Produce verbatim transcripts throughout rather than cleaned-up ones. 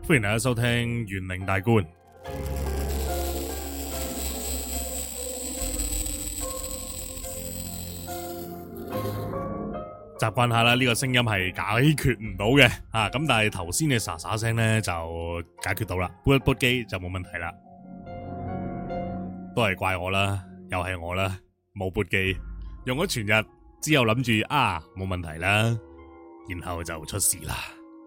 歡迎大家收聽玄靈大觀。習慣下啦，呢個聲音係解決唔到嘅啊！咁但係頭先嘅沙沙聲咧就解決到啦，撥一撥機就冇問題啦。都係怪我啦，又係我啦，冇撥機，用咗全日之後諗住啊冇問題啦，然後就出事啦。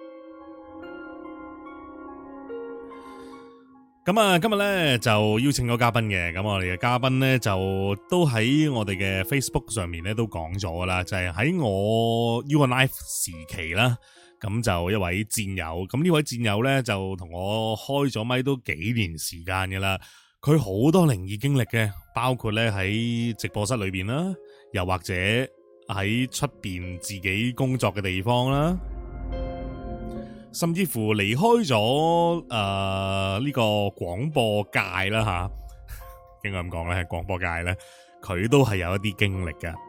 咁啊，今日咧就邀請咗嘉賓嘅，咁我哋嘅嘉賓咧就都喺我哋嘅 Facebook 上面咧都講咗噶啦，就係、是、喺我 U N Life 時期啦，咁就一位戰友，咁呢位戰友咧就同我開咗咪都幾年時間噶啦，佢好多靈異經歷嘅，包括咧喺直播室裏邊啦，又或者喺出邊自己工作嘅地方啦。甚至乎離開咗誒呢個廣播界啦吓，應該咁講咧，係廣播界咧，佢都係有一啲經歷噶。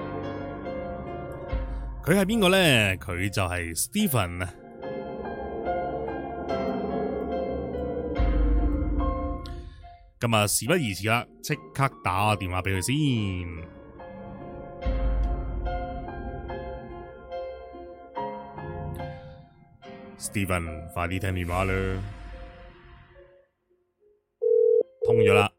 佢係邊個咧？佢就係 Stephen 啊。咁啊，事不宜遲啦，即刻打個電話俾佢先。Stephen，快啲聽電話啦，通咗啦。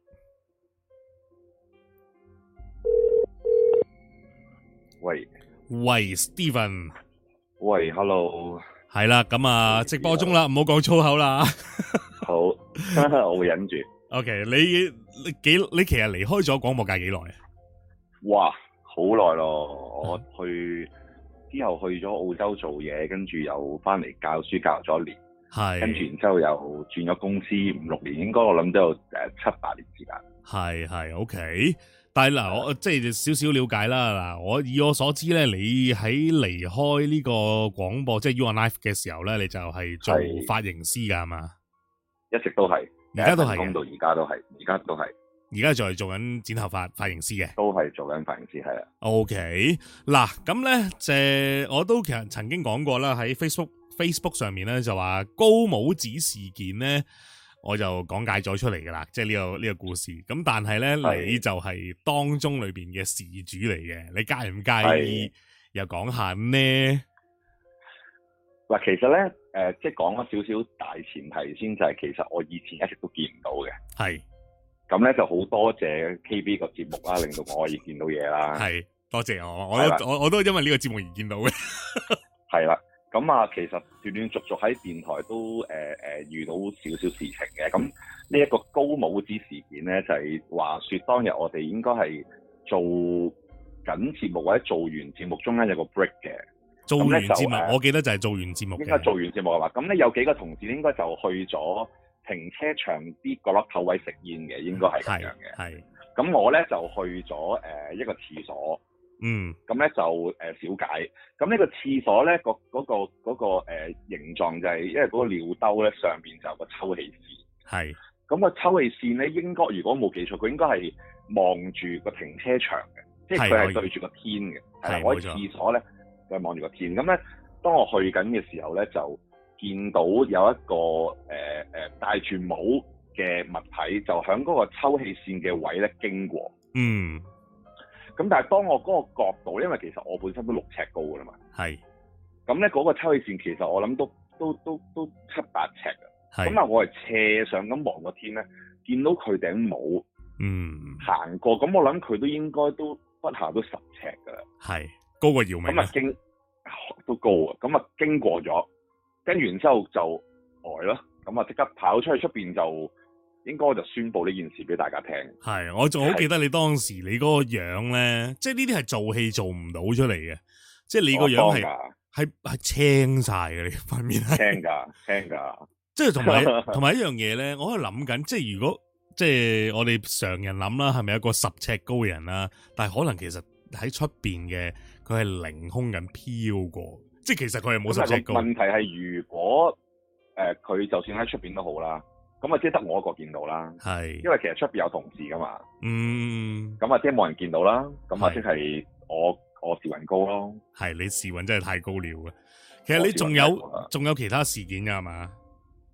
喂喂 ，Stephen， 喂 ，Hello， 係啦，咁啊，直播中啦，唔好講粗口啦。 好，我會忍住。 OK，你你幾你其實離開咗廣播界幾耐啊？ 哇，好耐咯，我去。之後去咗澳洲做嘢，跟住又翻嚟教書教咗一年，係跟住然之後又轉咗公司五六年，應該我諗都有誒七八年時間。係係 OK，但係嗱，我即係少少了解啦。嗱，我以我所知咧，你喺離開呢個廣播即係 U N Life 嘅時候咧，你就係做髮型師噶嘛？一直都係，而家都係，講到而家都係，而家都係。而家就係做緊剪頭髮髮型師嘅，都係做緊髮型師，係啊。OK，嗱咁咧，即係我都其實曾經講過啦，喺 Facebook Facebook 上面咧就話高帽子事件咧，我就講解咗出嚟噶啦，即係呢個呢個故事。咁但係咧，你就係當中裏邊嘅事主嚟嘅，你介唔介意又講下呢？嗱，其實咧，誒、呃，即係講咗少少大前提先，就係、是、其實我以前一直都見唔到嘅，係。咁咧就好多謝 K B 個節目啦，令到我可以見到嘢啦。係，多謝我，我都我我都因為呢個節目而見到嘅。係啦，咁啊，其實斷斷續續喺電台都誒誒、呃、遇到少少事情嘅。咁呢一個高帽子事件咧，就係、是、話說當日我哋應該係做緊節目或者做完節目中間有個 break 嘅。做完節目，我記得就係做完節目嘅。應該做完節目嘅話，咁咧有幾個同事應該就去咗停車場啲角落頭位食煙嘅，應該係咁樣嘅。係，咁我咧就去咗誒、呃、一個廁所。嗯。咁咧就誒、呃、小解。咁呢個廁所咧個嗰個嗰、嗰個誒、呃、形狀就係、是，因為嗰個尿兜咧上邊就有個抽氣扇。係。咁個抽氣扇咧應該如果冇記錯，佢應該係望住個停車場嘅，即係佢係對住個天嘅。係。我喺廁所咧就望住個天。咁咧當我去緊嘅時候咧就見到有一個誒誒、呃、戴住帽嘅物體，就喺嗰個抽氣扇嘅位咧經過。嗯。咁但係當我嗰個角度，因為其實我本身都六尺高噶啦嘛。係。咁咧嗰個抽氣扇其實我諗都都都都七八尺㗎。係。咁啊，我係斜上咁望個天咧，見到佢頂帽。嗯。行過，咁我諗佢都應該都不下都十尺㗎啦。係。高過姚明。咁啊經都高啊，咁啊經過咗。跟完之後就呆咯，咁啊即刻跑出去出邊就應該就宣佈呢件事俾大家聽。係，我仲好記得你當時你嗰個樣咧，即係呢啲係做戲做唔到出嚟嘅，即係你個樣係係係青晒嘅，你塊面係青噶青噶。即係同埋同埋一樣嘢咧，我喺度諗緊，即係如果即係我哋常人諗啦，係咪一個十尺高嘅人啦？但係可能其實喺出邊嘅佢係凌空緊飄過。即係其實佢係冇十尺高。問題係如果誒佢、呃、就算喺出邊都好啦，咁啊即係得我一個見到啦。係，因為其實出邊有同事噶嘛。嗯。咁啊即係冇人見到啦。咁啊即係我我時運高咯。係，你時運真係太高了嘅。其實你仲有仲有其他事件噶係嘛？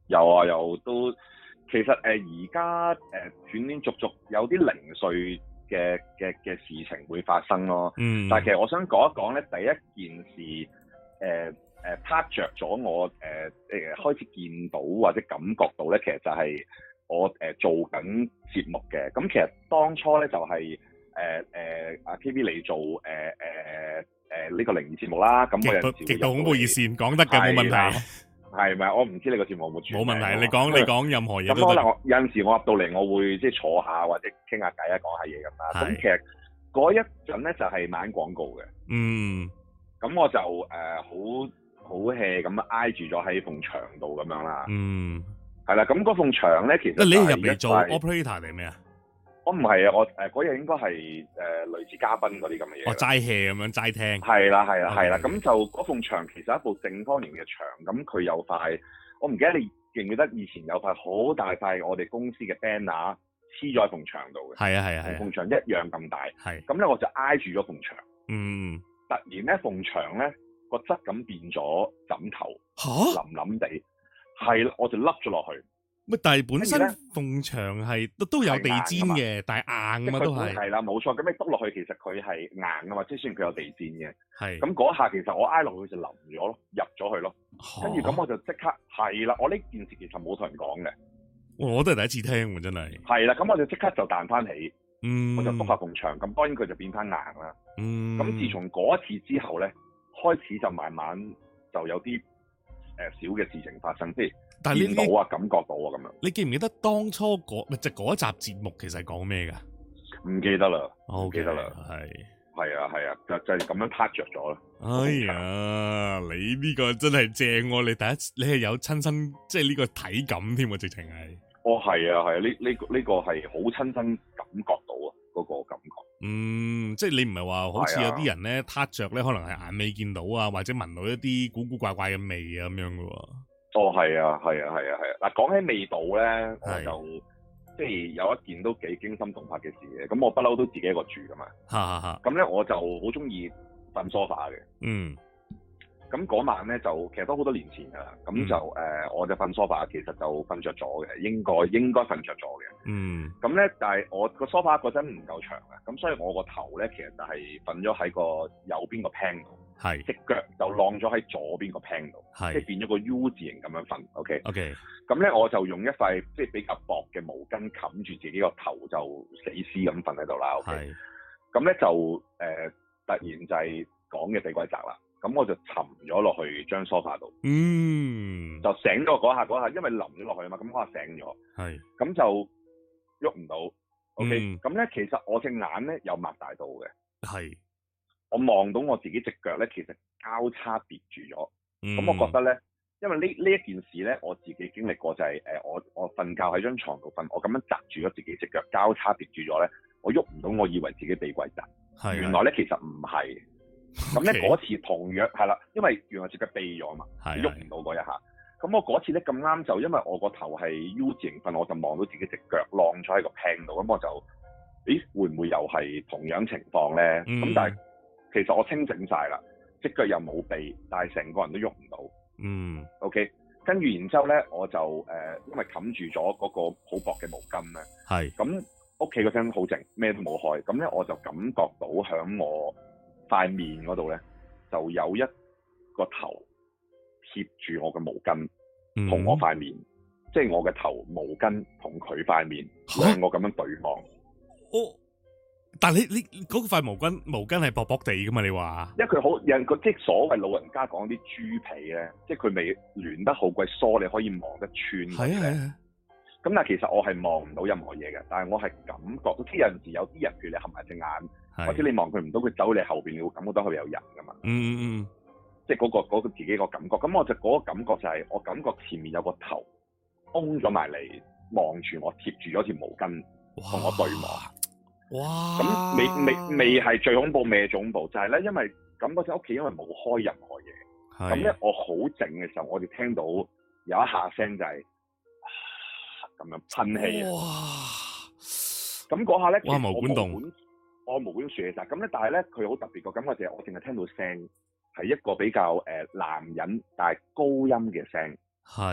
有啊，有都其實誒而家誒斷斷續續有啲零碎嘅嘅嘅事情會發生咯。嗯。但係其實我想講一講咧，第一件事誒。呃誒撻着咗我誒誒、呃、開始見到或者感覺到咧，其實就係我誒、呃、做緊節目嘅。咁其實當初咧就係誒誒阿 K B 嚟做誒誒誒呢個靈異節目啦。咁我有陣時極度恐怖熱線講得嘅冇問題。 係咪？我唔知你個節目有冇轉。冇問題，你講你講任何嘢都得。 咁可能我有陣時我入到嚟，我會即係坐下或者傾下偈啊，講下嘢咁啦。咁其實嗰一陣咧就係買廣告嘅。嗯。咁我就誒好。呃好 hea 咁挨住咗喺埲牆度咁樣啦。嗯，係啦。咁嗰埲牆咧，其實你入嚟做 operator 定咩啊？ 我唔係啊，我誒嗰日應該係誒、呃、類似嘉賓嗰啲咁嘅嘢。 哦，齋 hea 咁樣齋聽。 係啦，係啦，係啦。咁就嗰埲牆其實係一部正方形嘅牆，咁佢有塊，我唔記得你記唔記得以前有塊好大塊我哋公司嘅 banner 黐咗喺埲牆度嘅。係啊，係啊，係。埲牆一樣咁大。係。咁咧我就挨住咗埲牆。嗯。突然咧，埲牆咧。個質感變咗枕頭，嚇腍腍地，係啦，我就凹咗落去。 乜？但係本身埲牆係都都有地氈嘅，但係硬啊嘛都係。 係啦，冇錯。咁你篤落去，其實佢係硬啊嘛，即係雖然佢有地氈嘅。係。咁嗰下其實我挨落去就腍咗咯，入咗去咯。跟住咁我就即刻係啦，我呢件事其實冇同人講嘅。 我都係第一次聽喎，真係。 係啦，咁我就即刻就彈翻起，嗯，我就篤下埲牆，咁當然佢就變翻硬啦。嗯。咁自從嗰一次之後咧，開始就慢慢就有啲誒小嘅事情發生，即係見到啊、感覺到啊咁樣。 你記唔記得當初嗰即係嗰一集節目其實係講咩㗎？ 唔記得啦，唔、okay, 記得啦，係係啊係啊，就就係咁樣撻着咗啦。 哎呀，你呢個真係正喎！你第一次你係有親身即係呢個體感添喎，直情係。 哦，係啊係啊，呢呢、呢個呢、呢個係好親身感覺到啊，嗰、嗰個感覺。 嗯，即係你唔係話好似有啲人咧撻着咧，可能係眼尾見到啊，或者聞到一啲古古怪怪嘅味啊咁樣噶喎。 哦，係啊，係啊，係啊，係啊。嗱，講起味道咧，我就即係有一件都幾驚心動魄嘅事嘅。咁我不嬲都自己一個住噶嘛。哈哈哈。咁咧我就好中意瞓梳化嘅。嗯。咁嗰晚咧就其實都好多年前㗎啦，咁就誒、嗯呃、我就瞓梳化，其實就瞓着咗嘅，應該應該瞓着咗嘅。嗯。咁咧，但係我個梳化嗰陣唔夠長啊，咁所以我個頭咧其實就係瞓咗喺個右邊個 pan 度，係隻腳就晾咗喺左邊個 pan 度，係即係變咗個 U 字形咁樣瞓。OK。OK。咁咧我就用一塊即係比較薄嘅毛巾冚住自己個頭，就死屍咁瞓喺度啦。OK。係。咁咧就誒、呃、突然就係講嘅死鬼宅啦。咁我就沉咗落去張梳化度，嗯，就醒咗嗰下嗰下，因為淋咗落去啊嘛，咁我醒咗，係，咁就喐唔到 ，OK，咁、嗯、咧其實我隻眼咧有擘大到嘅，係，我望到我自己隻腳咧，其實交叉疊住咗，咁、嗯、我覺得咧，因為呢呢一件事咧，我自己經歷過就係、是、誒、呃，我我瞓覺喺張床度瞓，我咁樣擲住咗自己隻腳交叉疊住咗咧，我喐唔到，我以為自己被鬼砸，係，原來咧其實唔係。咁咧嗰次同樣係啦，因為原來隻腳痹咗嘛，喐唔到嗰一下。咁我嗰次咧咁啱就因為我個頭係 U 字形瞓，我就望到自己隻腳晾咗喺個 pan 度，咁我就，咦會唔會又係同樣情況咧？咁、嗯、但係其實我清醒晒啦，隻腳又冇痹，但係成個人都喐唔到。嗯。OK，跟住然之後咧，我就誒、呃、因為冚住咗嗰個好薄嘅毛巾咧，係。咁屋企嗰陣好靜，咩都冇開，咁咧我就感覺到響我塊面嗰度咧，就有一個頭貼住我嘅毛巾，同、嗯、我塊面，即係我嘅頭毛巾同佢塊面兩個咁樣對望。 哦，但係你你嗰塊毛巾毛巾係薄薄地噶嘛？你話？因為佢好人個即係所謂老人家講啲豬皮咧，即係佢未攣得好鬼疏，你可以望得穿。係啊。咁但係其實我係望唔到任何嘢嘅，但係我係感覺到，即係有陣時有啲人譬如你合埋隻眼，或者你望佢唔到，佢走你後邊，你會感覺到佢有人噶嘛。嗯嗯嗯，即係嗰個嗰個自己個感覺。咁我就嗰個感覺就係我感覺前面有個頭嗡咗埋嚟望住我，貼住咗條毛巾同我對望。哇！咁未未未係最恐怖，未係最恐怖，就係咧，因為感覺喺屋企因為冇開任何嘢，咁咧我好靜嘅時候，我哋聽到有一下聲就係。咁樣噴氣啊！哇！咁嗰下咧，哇！毛管動，我毛管豎晒。咁咧，但係咧，佢好特別個感覺就係我淨係聽到聲，係一個比較誒、呃、男人但係高音嘅聲。係。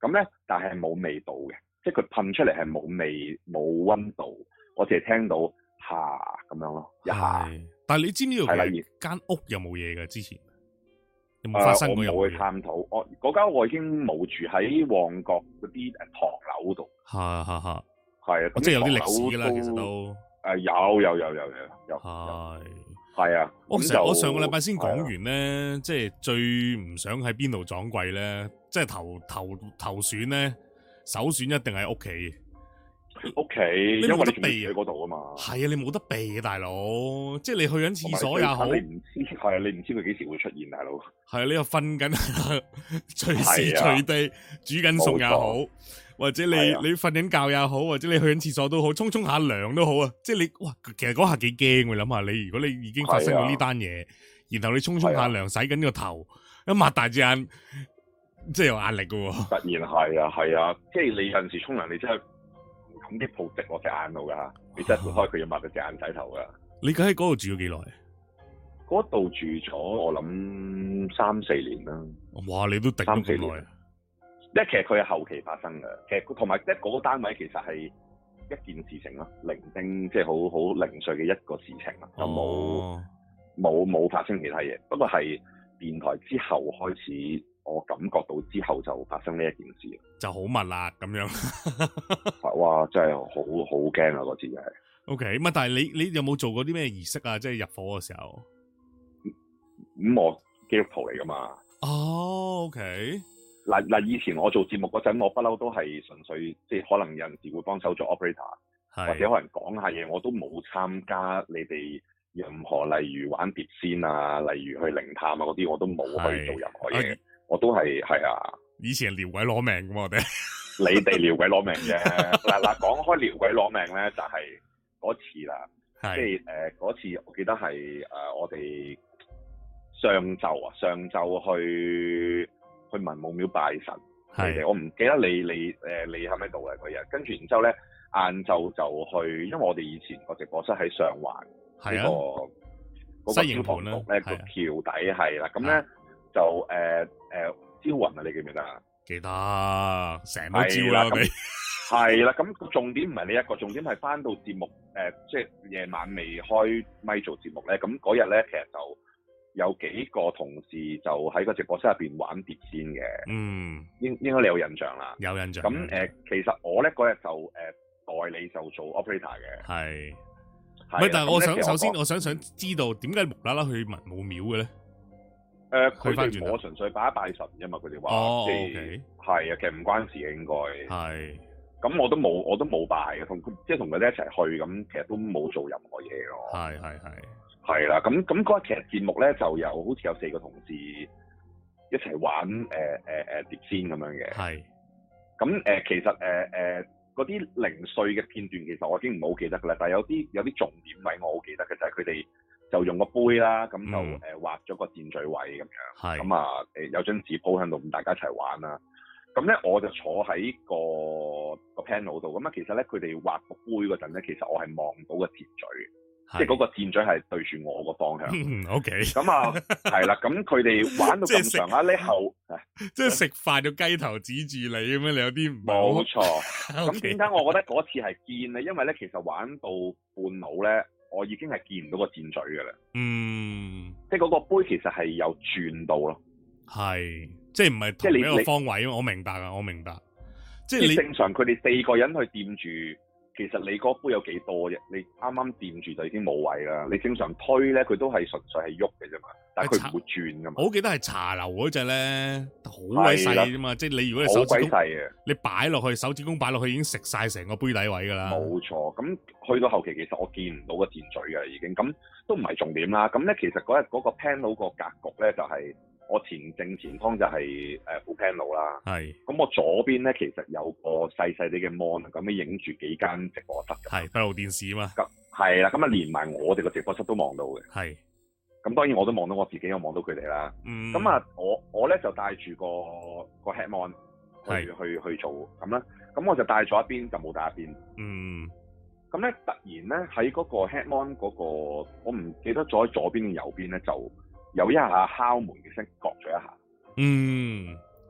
咁咧，但係冇味道嘅，即係佢噴出嚟係冇味冇溫度，我淨係聽到下咁樣咯，一下。 但係你知唔知道佢間屋有冇嘢嘅？之前有冇發生過？ 我冇去探討。我嗰間我已經冇住喺旺角嗰啲誒唐樓度。 係係係。 係啊， 即係有啲歷史㗎啦，其實都誒有有有有有有。 係係啊。 我上我上個禮拜先講完咧，即係最唔想喺邊度撞鬼咧，即係投投投選咧，首選一定係屋企。 屋企，因為你避喺嗰度啊嘛。係啊，你冇得避嘅大佬，即係你去緊廁所也好， 你唔知係啊，你唔知佢幾時會出現，大佬。 係啊，你又瞓緊，隨時隨地煮緊餸也好，或者你你瞓緊覺也好，或者你去緊廁所都好，沖沖下涼都好啊。即係你哇，其實嗰下幾驚，我諗下你，如果你已經發生過呢單嘢，然後你沖沖下涼，洗緊個頭，一擘大隻眼，即係有壓力噶。 突然係啊係啊，即係你有陣時沖涼，你真係。咁啲泡直落隻眼度噶，你真係撥開佢要抹到隻眼仔頭噶。你喺嗰度住咗幾耐？嗰度住咗我諗三四年啦。 哇！你都頂咗咁耐。 即係其實佢係後期發生嘅，其實同埋即係嗰個單位其實係一件事情咯，零丁即係好好零碎嘅一個事情啦，就冇冇冇發生其他嘢。不過係電台之後開始。我感覺到之後就發生呢一件事，就好密啦咁樣。哇！真係好好驚啊！嗰次係。O K，咁啊，但係你你有冇做過啲咩儀式啊？即係入伙嘅時候。咁我基督徒嚟噶嘛？哦，O K。嗱嗱，以前我做節目嗰陣，我不嬲都係純粹即係可能有陣時會幫手做 operator，或者可能講下嘢，我都冇參加你哋任何例如玩碟仙啊，例如去靈探啊嗰啲，我都冇去做任何嘢。我都係係啊！以前撩鬼攞命噶嘛，我哋你哋撩鬼攞命啫。嗱嗱，講開撩鬼攞命咧，就係、是、嗰次啦，即係誒嗰次，我記得係誒、呃、我哋上晝啊，上晝去去文武廟拜神。係，我唔記得你你誒、呃、你喺咪度嘅嗰日。跟住然之後咧，晏晝就去，因為我哋以前個直播室喺上環呢、那個嗰、那個消防局咧個橋底係啦，咁咧。就誒誒、呃呃、招魂啊！你記唔記得啊？記得，成日都招啦，我哋係啦。咁重點唔係呢一個，重點係翻到節目誒、呃，即係夜晚未開咪做節目咧。咁嗰日咧，其實就有幾個同事就喺個直播室入邊玩碟仙嘅。嗯，應應該你有印象啦。有印象。咁誒、呃，其實我咧嗰日就誒、呃、代理就做 operator 嘅。係。唔係，但係我想首先我想想知道點解無啦啦去文武廟嘅咧？誒、呃，佢哋我純粹拜一拜神啫嘛，佢哋話，即係係啊，其實唔關事嘅應該。係。咁我都冇，我都冇拜嘅，同即係同佢哋一齊去，咁其實都冇做任何嘢咯。係係係。係啦，咁咁嗰日其實節目咧就有好似有四個同事一齊玩誒誒誒碟仙咁樣嘅。係。咁誒、呃、其實誒誒嗰啲零碎嘅片段，其實我已經唔好記得㗎啦，但係有啲有啲重點位我好記得嘅就係佢哋。就用個杯啦，咁就誒畫咗個箭嘴位咁樣，咁啊誒有張紙鋪喺度，咁大家一齊玩啦。咁咧我就坐喺個個 panel 度，咁啊其實咧佢哋畫個杯嗰陣咧，其實我係望到個箭嘴，即係嗰個箭嘴係對住我個方向。O K。咁啊係啦，咁佢哋玩到咁上下呢後，即係食飯個雞頭指住你咁樣，你有啲唔冇錯。咁點解我覺得嗰次係見咧？因為咧其實玩到半路咧。我已經係見唔到個箭嘴嘅啦，嗯，即係嗰個杯其實係有轉到咯，係，即係唔係同一個方位，我明白啊，我明白，即係你正常佢哋四個人去掂住，其實你嗰杯有幾多啫？你啱啱掂住就已經冇位啦。你正常推咧，佢都係純粹係喐嘅啫嘛，但係佢唔會轉噶嘛。我記得係茶樓嗰隻咧，好鬼細啫嘛，即係你如果你手指公，你擺落去手指公擺落去已經食晒成個杯底位噶啦。冇錯，咁去到後期其實我見唔到個箭嘴嘅已經，咁都唔係重點啦。咁咧其實嗰日嗰個 panel 個格局咧就係、是。我前正前方就係誒副 panel 啦，係。咁我左邊咧其實有個細細啲嘅 mon，咁樣影住幾間直播室嘅。係閉路電視啊嘛。咁係啦，咁啊連埋我哋個直播室都望到嘅。係。咁當然我都望到我自己，我望到佢哋啦。嗯。咁啊，我我咧就帶住個個 head mon 去去去做咁啦。咁我就帶咗一邊，就冇帶一邊。嗯。咁咧突然咧喺嗰個 head mon 嗰個，我唔記得咗喺左邊定右邊咧就。有一下敲門嘅聲，割咗一下。嗯，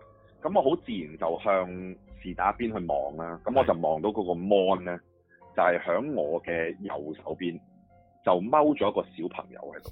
咁我好自然就向是打邊去望啦。咁我就望到嗰個 mon 咧，就係、是、響我嘅右手邊，就踎咗一個小朋友喺度。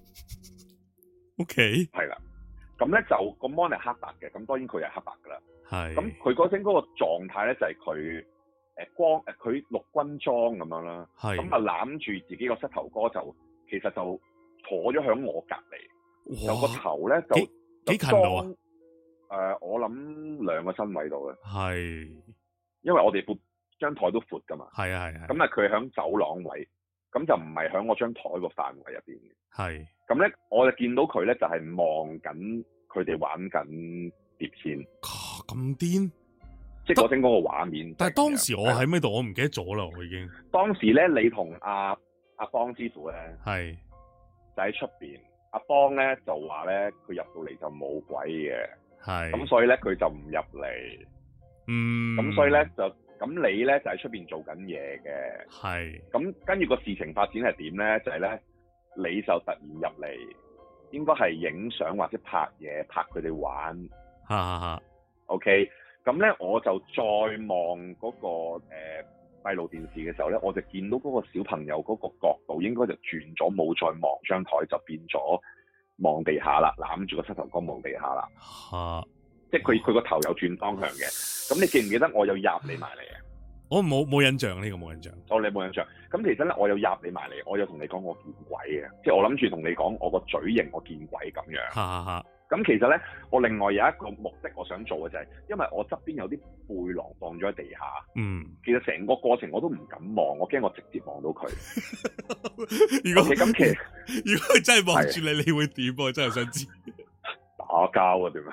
OK， 係啦。咁咧就個 mon 係黑白嘅，咁當然佢係黑白噶啦。 係。 咁佢嗰陣嗰個狀態咧就係佢誒光誒佢陸軍裝咁樣啦。係。咁啊攬住自己個膝頭哥就其實就坐咗響我隔離，有個頭咧就幾幾近度啊？誒、呃，我諗兩個身位度嘅。係。因為我哋部張台都闊噶嘛。係啊係啊。咁啊佢響走廊位，咁就唔係響我張台個範圍入邊嘅。係。咁咧，我就見到佢咧，就係望緊佢哋玩緊碟仙。咁癲！即係嗰陣嗰個畫面。但係當時我喺咩度？我唔記得咗啦，我已經。當時咧，你同阿阿邦師傅咧，係就喺出邊。阿邦咧就話咧，佢入到嚟就冇鬼嘅。係。咁所以咧，佢就唔入嚟。嗯。咁所以咧就，咁你咧就喺出邊做緊嘢嘅。係。咁跟住個事情發展係點咧？就係咧。你就突然入嚟，應該係影相或者拍嘢，拍佢哋玩。哈哈哈。OK，咁咧我就再望嗰、那個誒閉、呃、路電視嘅時候咧，我就見到嗰個小朋友嗰個角度應該就轉咗，冇再望張台，就變咗望地下啦，攬住個膝頭哥望地下啦。嚇、啊！即係佢佢個頭有轉方向嘅。咁你記唔記得我有入你埋嚟啊？我冇冇印象呢、這個冇印象。哦，你冇印象。咁其實咧，我有入你埋嚟，我有同你講我見鬼嘅，即係我諗住同你講我個嘴型我見鬼咁樣。哈哈哈。咁其實咧，我另外有一個目的我想做嘅就係、是，因為我側邊有啲背囊放咗喺地下。嗯。其實成個過程我都唔敢望，我驚我直接望到佢。如果咁、okay, 其實，如果佢真係望住你，你會點？我真係想知。打交啊？點啊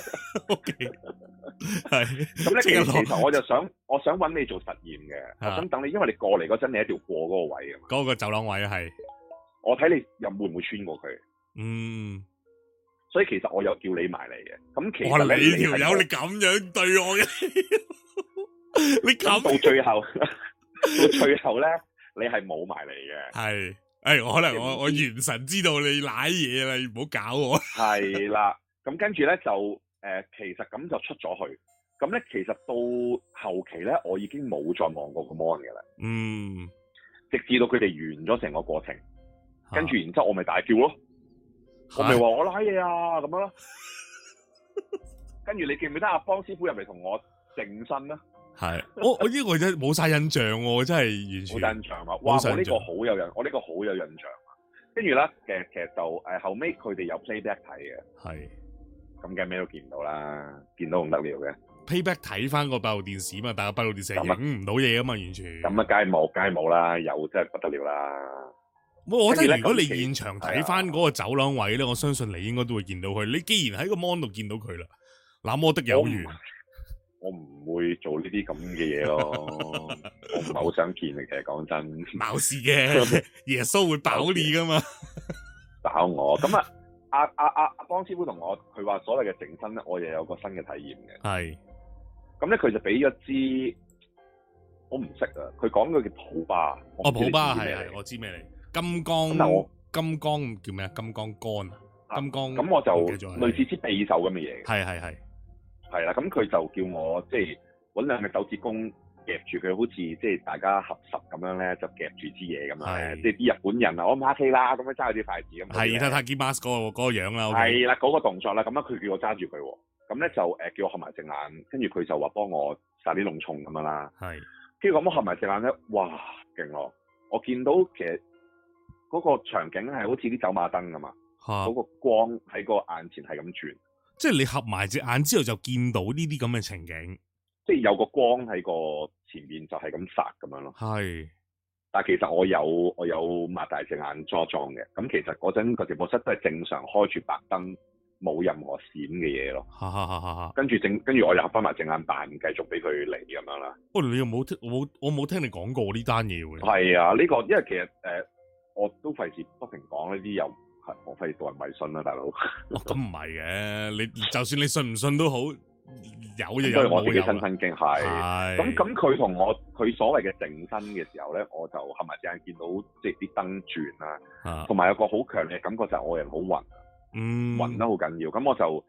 ？O K。係，咁咧其實其實我就想，我想揾你做實驗嘅，我想等你，因為你過嚟嗰陣，你一定要過嗰個位啊嘛。嗰個走廊位係，我睇你又會唔會穿過佢？嗯，所以其實我有叫你埋嚟嘅。咁其實咧，你條友你咁樣對我嘅，你咁到最後，到最後咧，你係冇埋嚟嘅。係，誒，我可能我我元神知道你瀨嘢啦，你唔好搞我。係啦，咁跟住咧就。誒、呃，其實咁就出咗去，咁咧其實到後期咧，我已經冇再望過個 mon 嘅啦。嗯，直至到佢哋完咗成個過程，跟、啊、住然之後我咪大叫咯，我咪話我拉嘢啊咁樣咯。跟住你記唔記得阿邦師傅入嚟同我淨身啦？係，我我呢個真冇晒印象喎，真係完全冇印象啊！哇，我呢個好有印，我呢個好有印象啊！跟住咧，其實其實就誒、呃、後尾佢哋有 playback 睇嘅，係。咁梗係咩都見唔到啦，見到唔得了嘅。Payback 睇翻個閉路電視嘛，但係個閉路電視影唔到嘢啊嘛，完全。咁啊，梗係冇，梗係冇啦，有真係不得了啦。我覺得如果你現場睇翻嗰個走廊位咧，我相信你應該都會見到佢。你既然喺個 mon 度見到佢啦，那麼的有緣。我唔會做呢啲咁嘅嘢咯，我唔係好想見嘅。其實講真，冇事嘅，耶穌會保你噶嘛，保我咁啊。阿阿阿阿邦師傅同我，佢話所謂嘅淨身咧，我又有個新嘅體驗嘅。係，咁咧佢就俾咗支，我唔識啊。佢講嘅叫普巴。哦，普巴係係，我知咩嚟？金剛，金剛叫咩啊？金剛桿啊？金剛。咁我就類似支匕首咁嘅嘢。係係係，係啦。咁佢就叫我即係搵兩隻手指公夾住佢，好似即係大家合十咁樣咧，就夾住支嘢咁樣。即係啲日本人啊，我唔客氣啦，咁樣揸住啲筷子咁。係，Takimas 嗰個嗰個樣啦。係啦，嗰個動作啦，咁樣佢叫我揸住佢，咁咧就誒叫我合埋隻眼，跟住佢就話幫我殺啲膿蟲咁樣啦。係，跟住咁我合埋隻眼咧，哇，勁咯！我見到其實嗰個場景係好似啲走馬燈咁嘛，嗰個光喺個眼前係咁轉。即係你合埋隻眼之後就見到呢啲咁嘅情景。即係有個光喺個前面就係咁殺咁樣咯。係，但係其實我有我有擘大隻眼裝裝嘅。咁其實嗰陣個直播室都係正常開住白燈，冇任何閃嘅嘢咯。哈哈哈哈！跟住正跟住我又合翻埋隻眼扮，繼續俾佢嚟咁樣啦。喂，你又冇聽我我冇聽你講過呢單嘢喎。係啊，呢、呢個因為其實誒、呃、我都費事不停講呢啲，又係我費事導人迷信啦，大佬。咁唔係嘅，你就算你信唔信都好。有嘢有，我自己親身經係，咁咁佢同我佢所謂嘅淨身嘅時候咧，我就合埋隻眼見到即係啲燈轉啦，同埋有個好強烈嘅感覺就係我人好暈，嗯，暈得好緊要，咁我就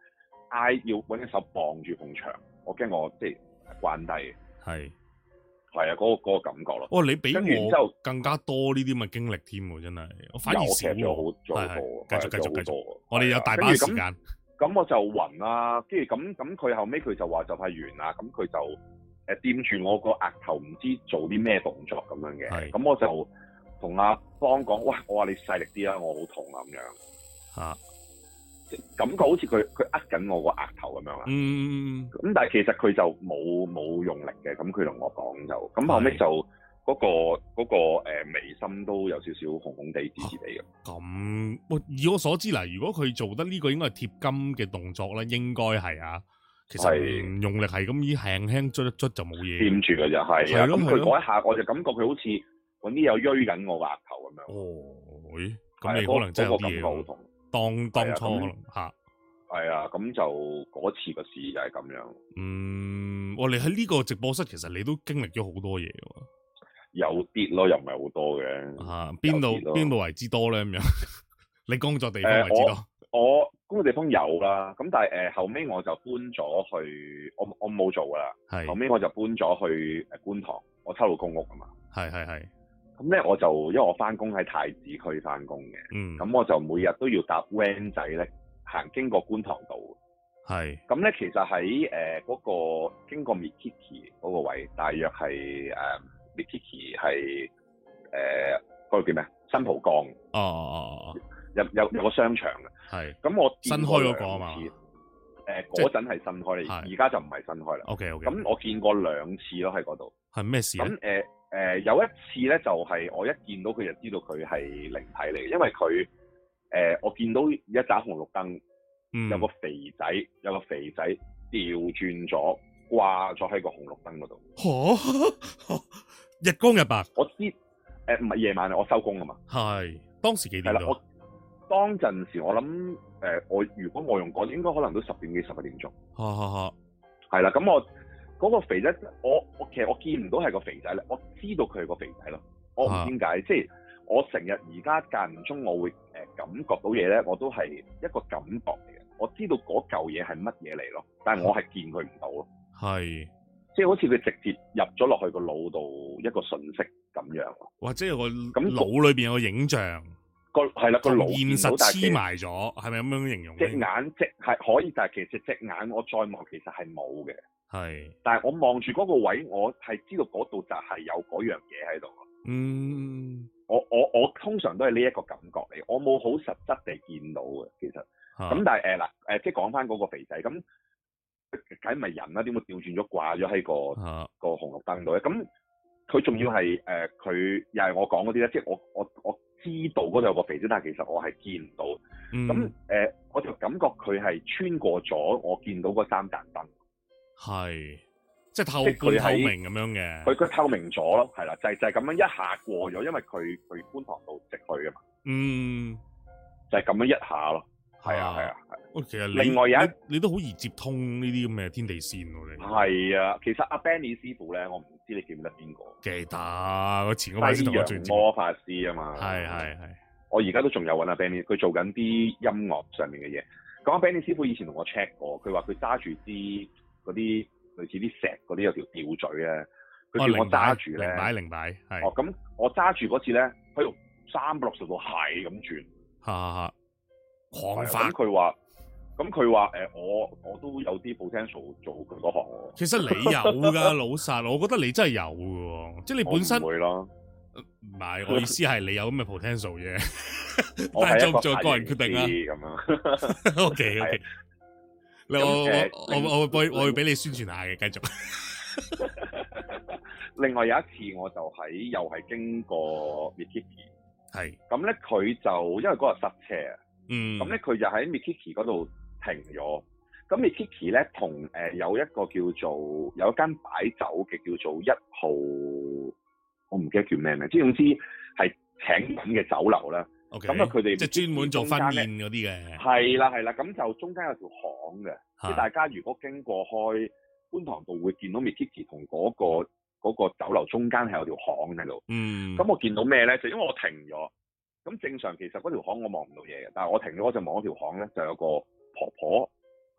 挨要揾隻手綁住埲牆，我驚我即係關低。係係啊，嗰、嗰個嗰、嗰個感覺咯。 哇！你比我更加多呢啲咁嘅經歷添喎，真係我反而少喎。係係，繼續繼續繼續。我哋有大把時間。 咁我就暈啦，跟住咁咁佢後尾佢就話就快完啦，咁佢就誒掂住我個額頭，唔知做啲咩動作咁樣嘅。咁我就同阿邦講：喂，我話你細力啲啦，我好痛啊咁樣。嚇、啊！感覺好似佢佢握緊我個額頭咁樣啊。嗯。咁但係其實佢就冇冇用力嘅，咁佢同我講就，咁後尾就。嗰、那個嗰、那個誒眉心都有少少紅紅地、紫紫地嘅。 咁，我以我所知啦，如果佢做得呢個應該係貼金嘅動作咧，應該係啊。其實唔用力係咁，依輕輕捽一捽就冇嘢。掂住嘅就係啊。咁佢嗰一下，我就感覺佢好似揾啲有鋥緊我個額頭咁樣。哦，咦？咁你可能真係有啲嘢喎。當當初可能嚇。係啊，咁就嗰次個事就係咁樣。嗯，我哋喺呢個直播室，其實你都經歷咗好多嘢喎。 有啲咯，又唔係好多嘅。 啊，邊度邊度為之多咧？咁樣，你工作地方為之多？ 呃、我，我工作地方有啦，咁但係誒、呃、後尾我就搬咗去，我我冇做噶啦。係後尾我就搬咗去誒觀塘，我抽到公屋啊嘛。係係係。咁咧我就因為我翻工喺太子區翻工嘅，嗯，咁我就每日都要搭 van 仔咧行經過觀塘道。係。咁咧其實喺誒嗰個經過 Mikiki 嗰個位，大約係誒。呃Mikiki 係誒嗰個叫咩？新蒲崗哦哦哦，有有有個商場嘅，係咁我見新開嗰個啊嘛，誒嗰陣係新開，而家就唔係新開啦。OK OK，咁我見過兩次咯喺嗰度，係咩事？咁誒誒有一次咧就係、是、我一見到佢就知道佢係靈體嚟嘅，因為佢誒、呃、我見到一盞紅綠燈、嗯，有個肥仔有個肥仔調轉咗掛咗喺個紅綠燈嗰度。 嚇！日光日白， 我知誒唔係夜晚啊，我收工啊嘛。係當時幾點？係啦，我當陣時我諗誒、呃，我如果我用講，應該可能都十點幾十一點鐘。嚇嚇嚇！係啦，咁我嗰、嗰個肥仔，我我其實我見唔到係個肥仔咧，我知道佢係個肥仔咯。我唔知點解，即係我成日而家間唔中，我會誒感覺到嘢咧，我都係一個感覺嚟嘅。我知道嗰嚿嘢係乜嘢嚟咯，但係我係見佢唔到咯。係。即係好似佢直接入咗落去個腦度一個訊息咁樣，或者有個咁腦裏邊有個影像，個係啦個腦現實黐埋咗，係咪咁樣形容？隻眼即係可以，但係其實隻眼我再望其實係冇嘅，係。但係我望住嗰個位，我係知道嗰度就係有嗰樣嘢喺度。嗯，我我我通常都係呢一個感覺嚟，我冇好實質地見到嘅，其實。咁但係誒嗱誒，即係講翻嗰個肥仔咁。梗係咪人啦？點會調轉咗掛咗喺個、啊、個紅綠燈度咧？咁佢仲要係誒，佢、呃、又係我講嗰啲咧，即係我我我知道嗰度有個肥仔，但係其實我係見唔到。咁、嗯、誒、呃，我就感覺佢係穿過咗我見到嗰三盞燈，係即係透半透明咁樣嘅。佢佢透明咗咯，係啦，就係就係咁樣一下過咗，因為佢佢觀塘道直去啊嘛。嗯，就係、是、咁樣一下咯。係啊係啊係。其實另外有一你，你都好易接通呢啲咁嘅天地線喎，你係啊。其實阿 Benny 師傅咧，我唔知你記唔記得邊個？記得，我前嗰排先同我最魔法師啊嘛。係係係。我而家都仲有揾阿 Benny，佢做緊啲音樂上面嘅嘢。咁阿 Benny 師傅以前同我 check 過，佢話佢揸住啲嗰啲類似啲石嗰啲有條吊墜咧，佢叫我揸住咧。零擺零擺係。哦，咁我揸住嗰次咧，喺度三百六十度係咁轉，哈哈哈，狂發。咁佢話。咁佢話誒，我我都有啲 potential 做佢嗰行喎。其實你有㗎，老實，我覺得你真係有㗎，即係你本身。唔會咯。唔係，我意思係你有咁嘅 potential 啫。但係做唔做個人決定啊。咁樣。O K O K。我我我我會我會俾你宣傳下嘅，繼續。另外有一次我就喺又係經過 Mikiki，係。咁咧佢就因為嗰日塞車啊。嗯。咁咧佢就喺 Mikiki 嗰度停咗，咁 Mikiki 咧同誒有一個叫做有一間擺酒嘅叫做一號，我唔記得叫咩名，即係總之係請緊嘅酒樓啦。咁啊佢哋即係專門做婚宴嗰啲嘅。係啦係啦，咁就中間有條巷嘅，即係大家如果經過開觀塘道會見到 Mikiki 同嗰個嗰個酒樓中間係有條巷喺度。嗯。咁我見到咩咧？就因為我停咗，咁正常其實嗰條巷我望唔到嘢嘅，但係我停咗我就望嗰條巷咧，就有個婆婆嚇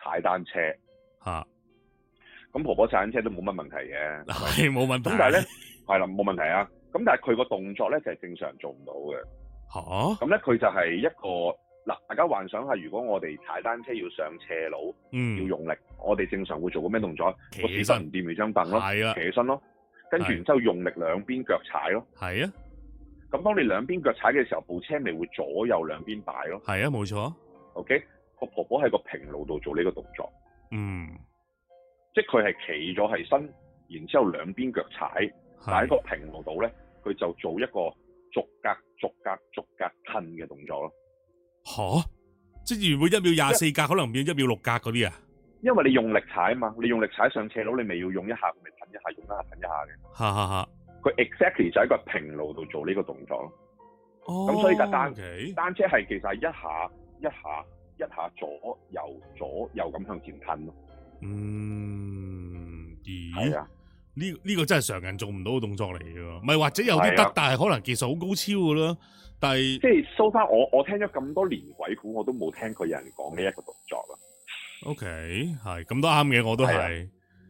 踩單車嚇。 咁婆婆踩單車都冇乜問題嘅， 係冇問題。 咁但係咧係啦，冇問題啊。咁但係佢個動作咧就係正常做唔到嘅。 嚇。咁咧佢就係一個嗱，大家幻想下，如果我哋踩單車要上斜路，嗯，要用力，我哋正常會做個咩動作？ 企起身， 唔掂咪張凳咯， 係啊， 企起身咯，跟住然之後用力兩邊腳踩咯， 係啊。 咁當你兩邊腳踩嘅時候，部車咪會左右兩邊擺咯， 係啊，冇錯。OK， 個婆婆喺個平路度做呢個動作， 嗯， 即係佢係企咗喺身，然之後兩邊腳踩，但喺個平路度咧，佢就做一個逐格逐格逐格褪嘅動作咯。 吓，即係原本一秒廿四格，可能變一秒六格嗰啲啊？ 因為你用力踩啊嘛，你用力踩上斜路，你咪要用一下，咪褪一下，用一下褪一下嘅。 哈哈哈！ 佢 exactly 就喺個平路度做呢個動作咯。哦，咁所以架單 okay. 單車係其實係一下一下一下左右左右咁向前褪咯。 嗯，咦？ 係啊， 呢呢、呢個真係常人做唔到嘅動作嚟嘅，唔係或者有啲得，但係可能技術好高超嘅咯。但係即係 so far，我我聽咗咁多年鬼故，我都冇聽過有人講呢一個動作啦。OK， 係咁都啱嘅，我都係。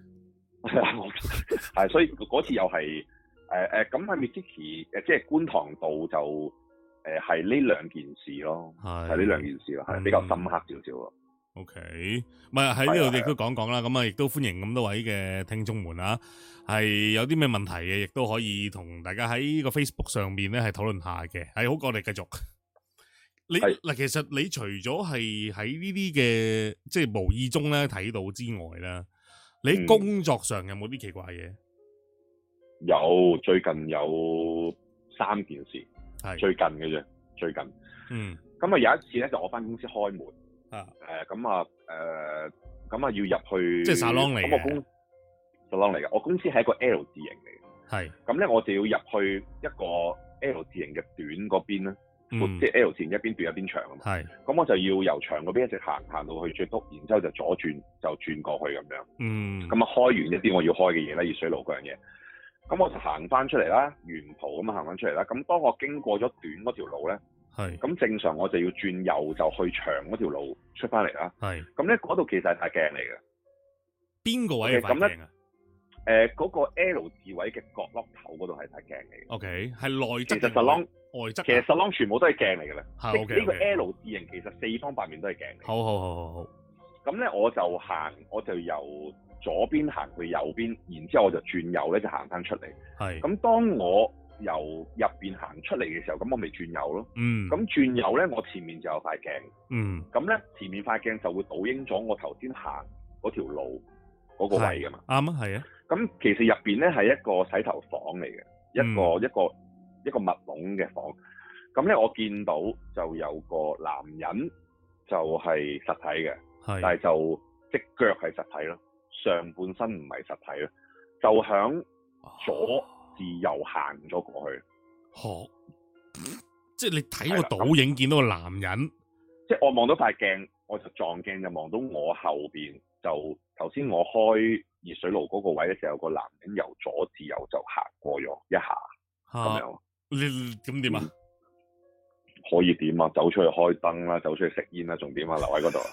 係，所以嗰次又係誒誒，咁喺 Mitsuki 誒，即係觀塘道就誒係呢兩件事咯，係呢兩件事咯，係、嗯、比較深刻少少咯。 OK，唔係喺呢度亦都講講啦，咁啊亦都歡迎咁多位嘅聽眾們啊，係有啲咩問題嘅，亦都可以同大家喺個 Facebook 上面咧係討論下嘅，係好過我哋繼續。你嗱，其實你除咗係喺呢啲嘅即係無意中咧睇到之外咧，你工作上有冇啲奇怪嘢？嗯？ 有，最近有三件事，係最近嘅啫，最近。嗯。咁啊有一次咧，就我返公司開門。啊，誒咁啊，誒咁啊，要入去， 即係沙龍嚟嘅。 咁我公沙龍嚟嘅，我公司係一個 L 字形嚟嘅。係。咁咧，我就要入去一個 L 字形嘅短嗰邊咧，嗯、即係 L 字形一邊短一邊長啊嘛。係。咁我就要由長嗰邊一直行行到去最篤，然之後就左轉就轉過去咁樣。嗯。咁啊，開完一啲我要開嘅嘢咧，熱水爐嗰樣嘢。咁我就行翻出嚟啦，沿途咁啊行翻出嚟啦。咁當我經過咗短嗰條路咧。係，咁正常我就要轉右就去長嗰條路出翻嚟啦。係，咁咧嗰度其實係塊鏡嚟嘅。邊個位係塊鏡啊？誒、呃，嗰、那個 L 字位嘅角落頭嗰度係塊鏡嚟嘅。O K，係內側。其實 salon 外側，其實 salon 全部都係鏡嚟嘅啦。係 O K。呢個 L 字形其實四方八面都係鏡嚟。好好好好好。咁咧我就行，我就由左邊行去右邊，然之後我就轉右咧就行翻出嚟。係。咁當我由入邊行出嚟嘅時候，咁我咪轉右咯。嗯。咁轉右咧，我前面就有塊鏡。嗯。咁咧，前面塊鏡就會倒映咗我頭先行嗰條路嗰個位噶嘛。啱啊，係啊。咁其實入邊咧係一個洗頭房嚟嘅，一個、嗯、一個一個密籠嘅房。咁咧，我見到就有個男人就係實體嘅，但係就隻腳係實體咯，上半身唔係實體咯，就響左自右行咗過去，哦，即係你睇個倒影見到個男人，即係我望到塊鏡，我就撞鏡就望到我後邊，就頭先我開熱水爐嗰個位嘅時候，個男人由左至右就行過咗一下，咁樣，你咁點啊？可以點啊？走出去開燈啦，走出去食煙啦，仲點啊？留喺嗰度。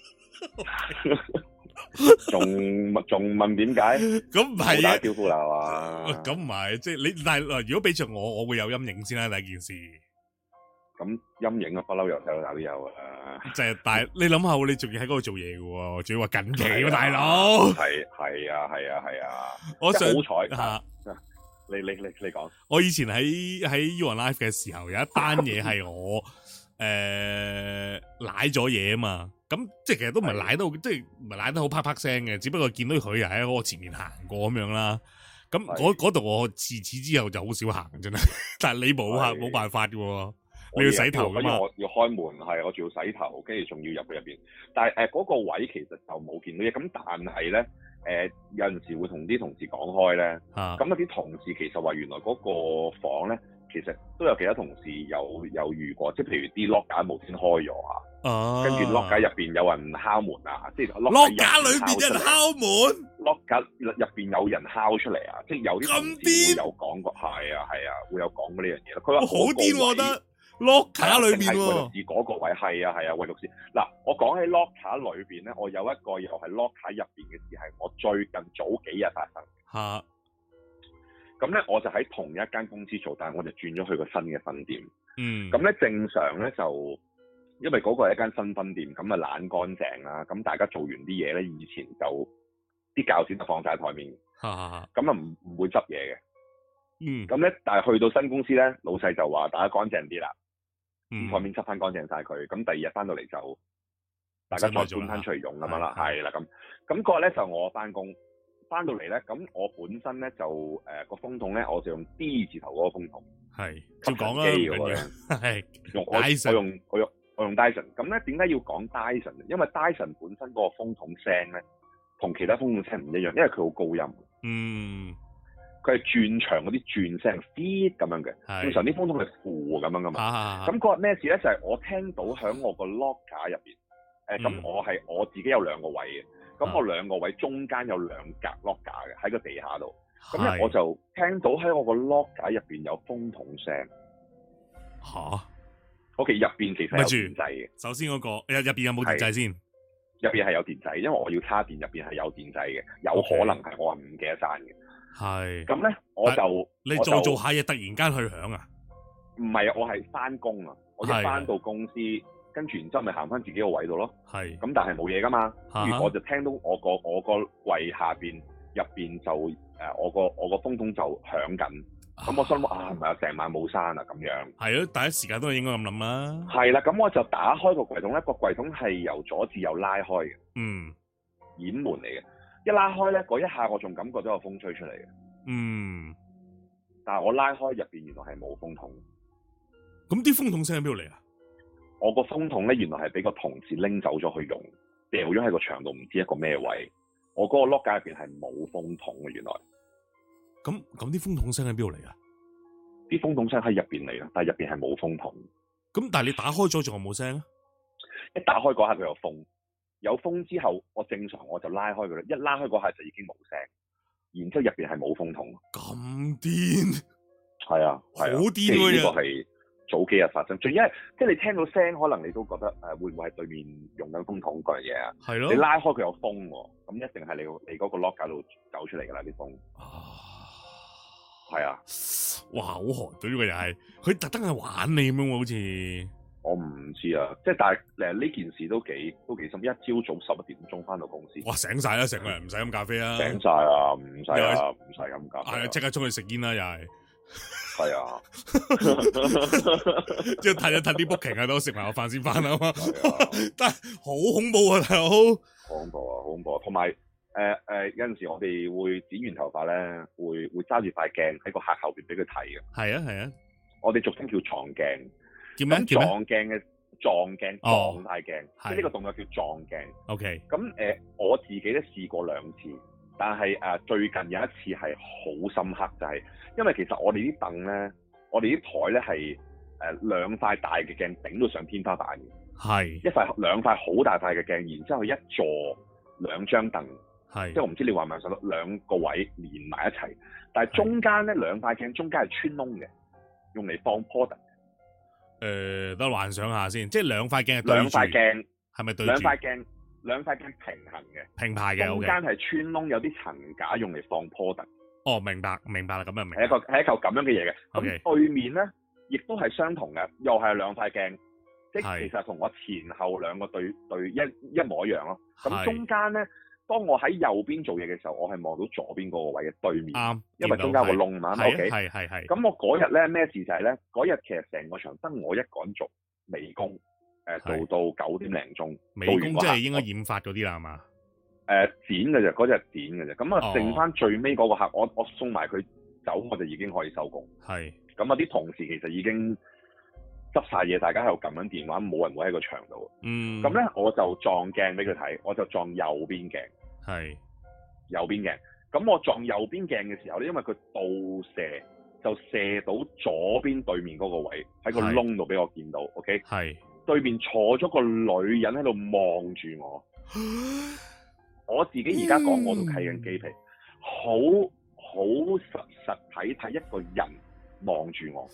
仲仲問點解？咁唔係打招呼啦，係嘛？咁唔係，即係你但係如果俾着我，我會有陰影先啦。第一件事，咁陰影啊，不嬲由細到大都有啊。就係但係你諗下，你仲要喺嗰度做嘢嘅喎，仲要話近期喎，大佬。係係啊係啊係啊！我想好彩吓，你你你你講。我以前喺喺 You on Live 嘅時候，有一單嘢係我誒瀨咗嘢啊嘛。咁即係其實都唔係舐到，即係唔係舐得好啪啪聲嘅，只不過見到佢又喺我前面行過咁樣啦。咁嗰嗰度我自此之後就好少行真係，但係你冇吓冇辦法嘅喎，你要洗頭噶嘛。我要開門係，我仲要洗頭，跟住仲要入去入邊。但係誒嗰個位其實就冇見到嘢。咁但係咧誒有陣時會同啲同事講開咧，咁有啲同事其實話原來嗰個房咧其實都有其他同事有有遇過，即係譬如啲 lock 架無端開咗啊。哦，跟住 lock 架入邊有人敲門啊，即係 lock 架裏邊有人敲門 ，lock 架入邊有人敲出嚟啊，即係有啲同事會有講過，係啊係啊，會有講過呢樣嘢咯。佢話好癲，我覺得 locker 裏邊喎。 位律師嗰個位係啊係啊，位律師。嗱，我講起 locker 裏邊咧，我有一個又係 locker 入邊嘅事，係我最近早幾日發生。 嚇！ 咁咧，我就喺同一間公司做，但係我就轉咗去個新嘅分店。 嗯。咁咧正常咧就，因為嗰個係一間新分店，咁啊懶乾淨啦。咁大家做完啲嘢咧，以前就啲鉸剪就放晒台面。 嚇嚇嚇！ 咁啊唔唔會執嘢嘅。 嗯。 咁咧，但係去到新公司咧，老細就話大家乾淨啲啦。 嗯。 台面執翻乾淨晒佢。咁第二日翻到嚟就大家再搬翻出嚟用咁樣啦。係啦，咁咁嗰日咧就我翻工。翻到嚟咧，咁我本身咧就誒個、呃、風筒咧，我就用 D 字頭嗰個風筒，係照講啦， 機嗰個咧，係用我我用我用我用 Dyson。咁咧點解要講 Dyson？ 因為 Dyson 本身嗰個風筒聲咧，同其他風筒聲唔一樣，因為佢好高音。嗯，佢係轉長嗰啲轉聲 feed 咁樣嘅，正常啲風筒係負咁樣噶嘛。咁嗰日咩事咧？就係、是、我聽到喺我個 locker 入邊，誒、呃、咁、嗯、我係我自己有兩個位嘅。咁我兩個位中間有兩格 locker 嘅喺個地下度，咁咧我就聽到喺我個 locker 入邊有風筒聲。吓 ？OK， 入邊其實有電掣嘅。首先嗰、那個入入邊有冇電掣先？入邊係有電掣，因為我要叉電，入邊係有電掣嘅。有可能係我係唔記得閂嘅。係。咁咧我就你做做下嘢，突然間去響啊？唔係啊，我係翻工啊，我一翻到公司。跟住然之後咪行翻自己個位度咯，係咁但係冇嘢噶嘛，跟住我就聽到我個我個櫃下邊入邊就誒、呃、我個我個風筒就響緊，咁、啊、我心諗啊唔係啊成晚冇閂啊咁樣，係咯，第一時間都係應該咁諗啦，係啦，咁我就打開個櫃桶咧，個櫃桶係由左至右拉開嘅，嗯，掩門嚟嘅，一拉開咧嗰一下我仲感覺到有風吹出嚟嘅，嗯，但係我拉開入邊原來係冇風筒，咁啲風筒聲喺邊度嚟啊？我個風筒咧，原來係俾個同事拎走咗去用，掉咗喺個牆度，唔知一個咩位。我嗰個 locker 入邊係冇風筒嘅，原來。咁咁啲風筒聲喺邊度嚟啊？啲風筒聲喺入邊嚟啦，但係入邊係冇風筒。咁但係你打開咗仲有冇聲啊？一打開嗰下佢有風，有風之後我正常我就拉開佢啦，一拉開嗰下就已經冇聲，然之後入邊係冇風筒。咁癲？係啊，係啊，好癲喎！呢個係早幾日發生，仲因為即係你聽到聲，可能你都覺得誒、呃、會唔會係對面用緊風筒嗰樣嘢啊？係咯。你拉開佢有風喎，咁一定係你你嗰個 locker 度走出嚟㗎啦啲風。啊，係啊！哇，好寒對呢個又係，佢特登係玩你咁樣喎，好似。我唔知啊，即係但係誒呢件事都幾都幾深，一朝早十一點鐘翻到公司。哇！醒晒啦，成個人唔使飲咖啡啊！醒晒啊，唔使啊，唔使飲咖啡。係啊，即刻出去食煙啦，又係。係啊，即係睇一睇啲 booking 喺度食埋個飯先翻啊嘛，但係好恐怖啊，大佬，好恐怖啊，好恐怖啊，同埋誒誒有陣時我哋會剪完頭髮咧，會會揸住塊鏡喺個客後邊俾佢睇嘅，係啊係啊，我哋俗稱叫撞鏡，叫咩？撞鏡嘅撞鏡撞大鏡，即係呢個動作叫撞鏡。OK，咁誒、呃、我自己都試過兩次。但係誒、呃、最近有一次係好深刻，就係、是、因為其實我哋啲凳咧，我哋啲台咧係誒兩塊大嘅鏡頂到上天花板嘅，係一塊兩塊好大塊嘅鏡，然之後一座兩張凳，係即係我唔知你話唔話上到兩個位連埋一齊，但係中間咧兩塊鏡中間係穿窿嘅，用嚟放 product。誒，得幻想下先，即係兩塊鏡係對住，兩塊鏡係咪對住？兩塊鏡。兩塊鏡平衡嘅，平排嘅，中間係穿窿，有啲層架用嚟放 product。哦，明白，明白啦，咁就明白。係一個係一嚿咁樣嘅嘢嘅。咁、okay. 對面咧，亦都係相同嘅，又係兩塊鏡，即係其實同我前後兩個對對一一模一樣咯。咁中間咧，當我喺右邊做嘢嘅時候，我係望到左邊嗰個位嘅對面，啱，因為中間有個窿嘛。OK，係係係。咁我嗰日咧咩事就係咧，嗰日其實成個場得我一個人做美工。誒，做到九點零鐘，美工即係應該染髮嗰啲啦，係嘛？誒，剪嘅啫，嗰隻係剪嘅啫。咁啊，剩翻最尾嗰個客，我我送埋佢走，我就已經可以收工。係。咁啊，啲同事其實已經執晒嘢，大家喺度撳緊電話，冇人會喺個場度。嗯。咁咧，我就撞鏡俾佢睇，我就撞右邊鏡。係。右邊鏡。咁我撞右邊鏡嘅時候咧，因為佢倒射，就射到左邊對面嗰個位，喺個窿度俾我見到。OK。係。對面坐咗個女人喺度望住我，我自己而家講我都起緊雞皮，好好實實體睇一個人望住我，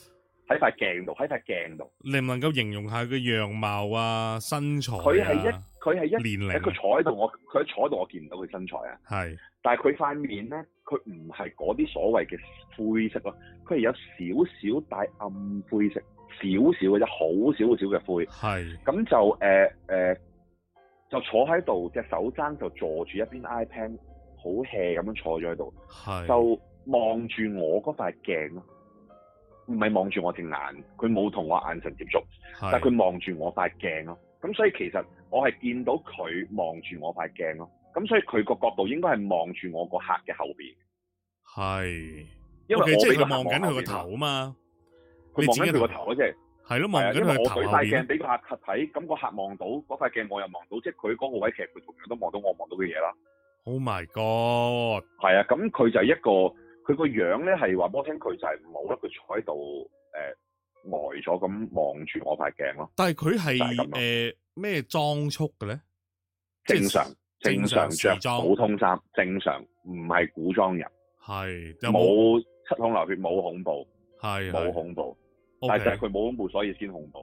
喺塊鏡度，喺塊鏡度。 你唔能夠形容下佢樣貌啊、身材啊？ 佢係一，佢係一年齡。 佢坐喺度，我佢坐喺度，我見唔到佢身材啊。 係。 但係佢塊面咧，佢唔係嗰啲所謂嘅灰色咯，佢係有少少帶暗灰色，少少嘅啫，好少少嘅灰。 係。咁就誒誒、呃呃，就坐喺度，隻手踭就坐住一邊 iPad， 好 hea 咁樣坐咗喺度。係。就望住我嗰塊鏡咯。唔係望住我隻眼，佢冇同我眼神接觸，但係佢望住我塊鏡咯。咁所以其實我係見到佢望住我塊鏡咯。咁所以佢個角度應該係望住我個客嘅後邊。係，因為我即係佢望緊佢個頭啊嘛。佢望緊佢個頭啊，即係係咯，望緊佢頭。因為我舉塊鏡俾個客睇，咁個客望到嗰塊鏡，我又望到，即係佢嗰個位，其實佢同樣都望到我望到嘅嘢啦。Oh my god！係啊，咁佢就係一個。佢個樣咧係話俾我聽，佢就係冇得佢坐喺度誒呆咗咁望住我塊鏡咯。但係佢係誒咩裝束嘅咧？正常正常着普通衫，正常唔係古裝人。係冇七孔流血，冇恐怖，係冇恐怖。但係就係佢冇恐怖，所以先恐怖。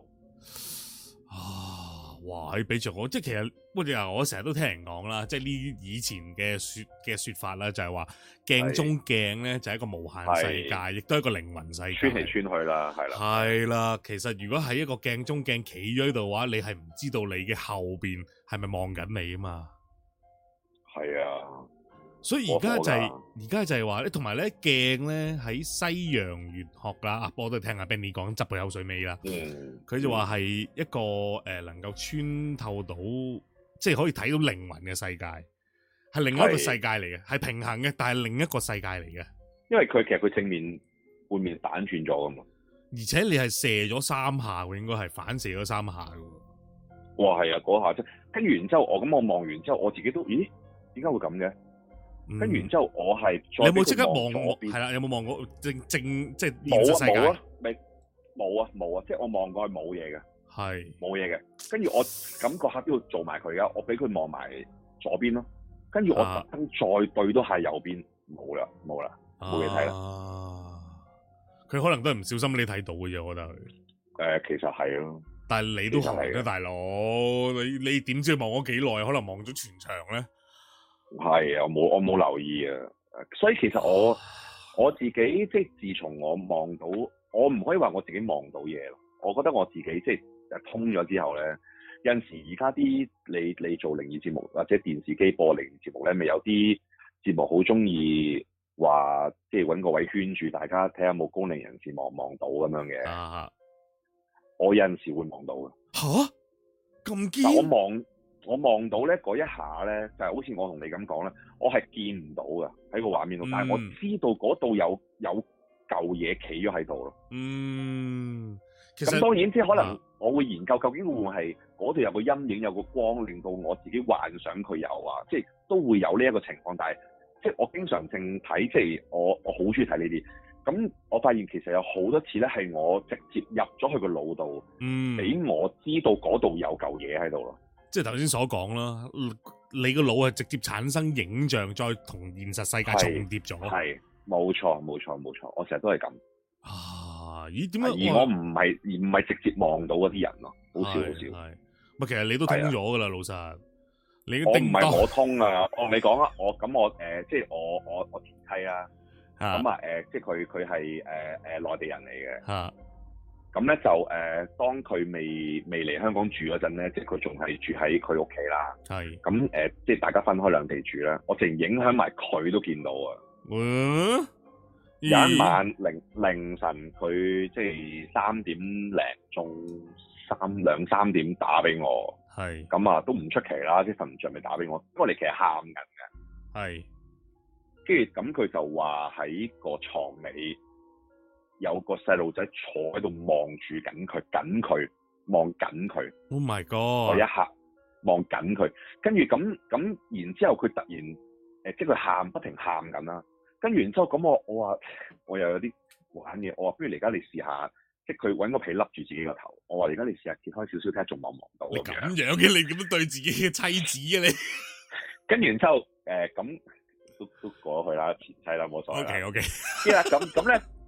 啊！哇！俾着我，即係其實，不過我成日都聽人講啦，即係呢以前嘅說嘅說法啦，就係話鏡中鏡咧就係一個無限世界，亦都係一個靈魂世界，穿嚟穿去啦，係啦，係啦。其實如果喺一個鏡中鏡企咗喺度嘅話，你係唔知道你嘅後邊係咪望緊你啊嘛？係啊。所以而家就係而家就係話咧，同埋咧鏡咧喺西洋玄學啦，啊，我都聽阿 Benny 講，執佢口水尾啦。嗯，佢就話係一個誒、呃、能夠穿透到，即係可以睇到靈魂嘅世界，係另一個世界嚟嘅，係平衡嘅，但係另一個世界嚟嘅。因為佢其實佢正面背面反轉咗噶嘛，而且你係射咗三下嘅，應該係反射咗三下嘅。哇，係啊，嗰下啫。跟住然之後，我咁我望完之後，我自己都咦，點解會咁嘅？跟住然之後我，我係你有冇即刻望我？係啦，有冇望過正正即係現實世界？冇啊，未冇啊，冇啊，即係我望過係冇嘢嘅，係冇嘢嘅。跟住我感覺下邊度做埋佢噶，我俾佢望埋左邊咯。跟住我特登再對都係右邊，冇啦，冇啦，冇嘢睇啦。佢可能都係唔小心你睇到嘅啫，我覺得佢。誒、呃，其實係咯，但係你都係嘅，大佬，你你點知望咗幾耐？可能望咗全場咧。係啊，我冇我冇留意啊，所以其實我我自己即係自從我望到，我唔可以話我自己望到嘢咯。我覺得我自己即係通咗之後咧，有陣時而家啲你你做靈異節目或者電視機播靈異節目咧，咪有啲節目好中意話即係搵個位圈住大家睇下有冇高靈人士望望到咁樣嘅。啊，我有陣時會望到嘅。吓，咁堅？我望。我望到咧嗰一下咧，就係、是、好似我同你咁講咧，我係見唔到噶喺個畫面度、嗯，但係我知道嗰度有有嚿嘢企咗喺度咯。嗯，咁當然即係可能我會研究究竟會唔會係嗰度有個陰影，有個光，令到我自己幻想佢有啊，即係都會有呢一個情況。但係即係我經常性睇，即係我我好中意睇呢啲。咁我發現其實有好多次咧，係我直接入咗去個腦度，嗯，俾我知道嗰度有嚿嘢喺度咯。即係頭先所講啦，你個腦係直接產生影像，再同現實世界重疊咗。係，冇錯，冇錯，冇錯。我成日都係咁。啊，咦？點解？而我唔係，而唔係直接望到嗰啲人咯，好少好少。係，咪其實你都通咗噶啦，老實。你我唔係我通啊，我你講啊，我咁我誒、呃，即係我我我前妻啊，咁啊誒，即係佢佢係誒誒內地人嚟嘅。啊。咁咧就誒、呃，當佢未未嚟香港住嗰陣咧，即係佢仲係住喺佢屋企啦。係。咁誒、呃，即係大家分開兩地住啦。我淨影響埋佢都見到啊。嗯。有一晚凌凌晨，佢即係三點零鐘，三兩三點打俾我。係。咁啊，都唔出奇啦，即係瞓唔着咪打俾我。因為我哋其實喊緊嘅。係。跟住咁，佢就話喺個床尾。有個細路仔坐喺度望住緊佢，緊佢望緊佢。Oh my god！我一下望緊佢，跟住咁咁，然之後佢突然誒、呃，即係佢喊，不停喊緊啦。跟住然之後咁，我我話我又有啲玩嘢，我話不如而家你試下，即係佢揾個被笠住自己個頭。我話而家你試下揭開少少睇下，仲望唔望到？你咁樣嘅，你點樣對自己嘅妻子啊？你跟住然之後誒，咁、呃、都都過咗去啦，前妻啦，冇所謂。OK OK。咁咁咧。